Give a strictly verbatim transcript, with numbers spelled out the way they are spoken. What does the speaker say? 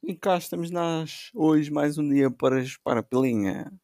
E cá estamos nós, hoje mais um dia para chupar a pilinha.